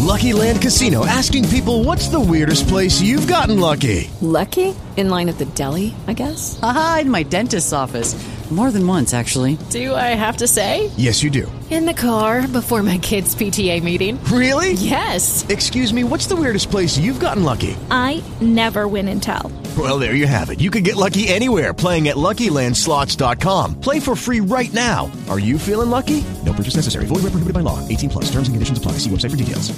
Lucky Land Casino, asking people, what's the weirdest place you've gotten lucky? Lucky? In line at the deli, I guess? Aha, in my dentist's office. More than once, actually. Do I have to say? Yes, you do. In the car before my kids' PTA meeting. Really? Yes. Excuse me, what's the weirdest place you've gotten lucky? I never win and tell. Well, there you have it. You can get lucky anywhere, playing at LuckyLandSlots.com. Play for free right now. Are you feeling lucky? No purchase necessary. Void where prohibited by law. 18 plus. Terms and conditions apply. See website for details.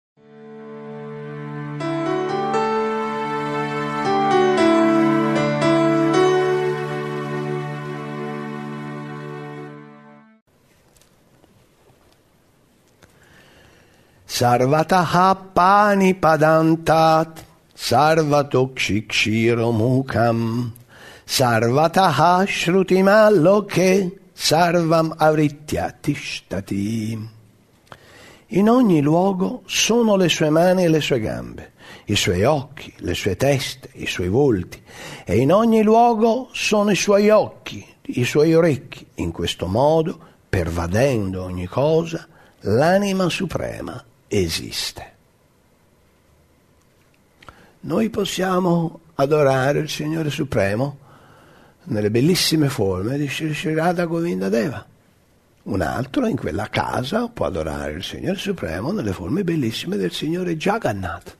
Sarvataha pani padantat, sarvatokshikshiro mukam, sarvataha shrutimaloke, sarvam avritya tishtati. In ogni luogo sono le sue mani e le sue gambe, i suoi occhi, le sue teste, i suoi volti, e in ogni luogo sono i suoi occhi, i suoi orecchi. In questo modo, pervadendo ogni cosa, l'anima suprema esiste. Noi possiamo adorare il Signore Supremo nelle bellissime forme di Sri Radha Govinda Deva. Un altro in quella casa può adorare il Signore Supremo nelle forme bellissime del Signore Jagannath.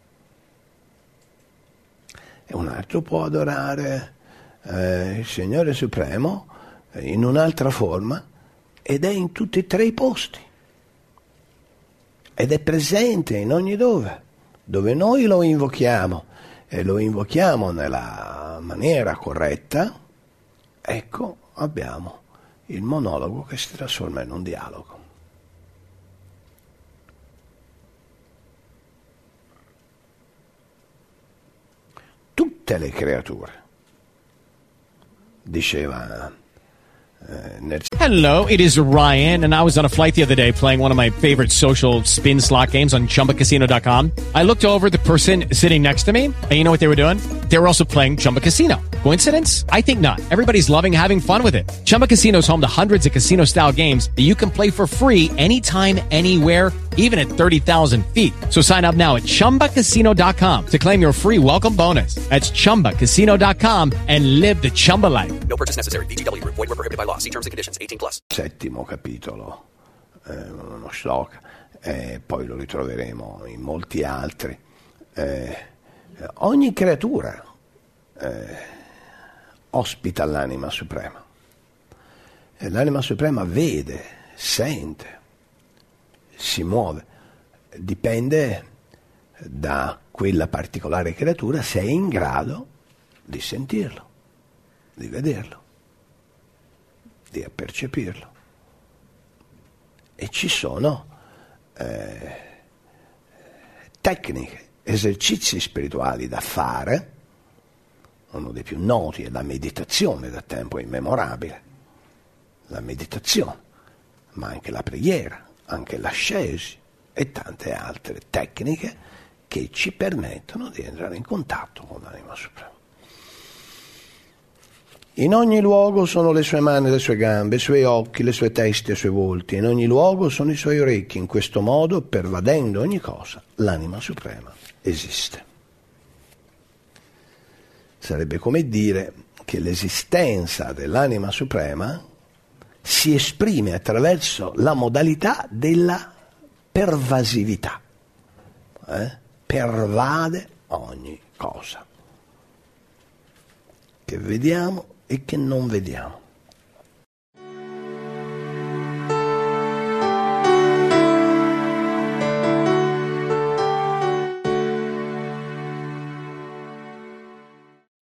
E un altro può adorare il Signore Supremo in un'altra forma, ed è in tutti e tre i posti. Ed è presente in ogni dove noi lo invochiamo, e lo invochiamo nella maniera corretta, ecco, abbiamo il monologo che si trasforma in un dialogo. Tutte le creature, diceva Hello, it is Ryan, and I was on a flight the other day playing one of my favorite social spin slot games on ChumbaCasino.com. I looked over the person sitting next to me, and you know what they were doing? They were also playing Chumba Casino. Coincidence? I think not. Everybody's loving having fun with it. Chumba Casino is home to hundreds of casino-style games that you can play for free anytime, anywhere, even at 30,000 feet. So sign up now at ChumbaCasino.com to claim your free welcome bonus. That's ChumbaCasino.com and live the Chumba life. No purchase necessary. VGW. Void where prohibited by law. See terms and conditions. 18 plus. Settimo capitolo, uno shloka, poi lo ritroveremo in molti altri. Ogni creatura ospita l'anima suprema. E l'anima suprema vede, sente, si muove. Dipende da quella particolare creatura se è in grado di sentirlo, di vederlo, di percepirlo. E ci sono tecniche, esercizi spirituali da fare. Uno dei più noti è la meditazione da tempo immemorabile. La meditazione, ma anche la preghiera, anche l'ascesi e tante altre tecniche che ci permettono di entrare in contatto con l'anima suprema. In ogni luogo sono le sue mani e le sue gambe, i suoi occhi, le sue teste e i suoi volti. In ogni luogo sono i suoi orecchi. In questo modo, pervadendo ogni cosa, l'anima suprema esiste. Sarebbe come dire che l'esistenza dell'anima suprema si esprime attraverso la modalità della pervasività. Pervade ogni cosa che vediamo e che non vediamo.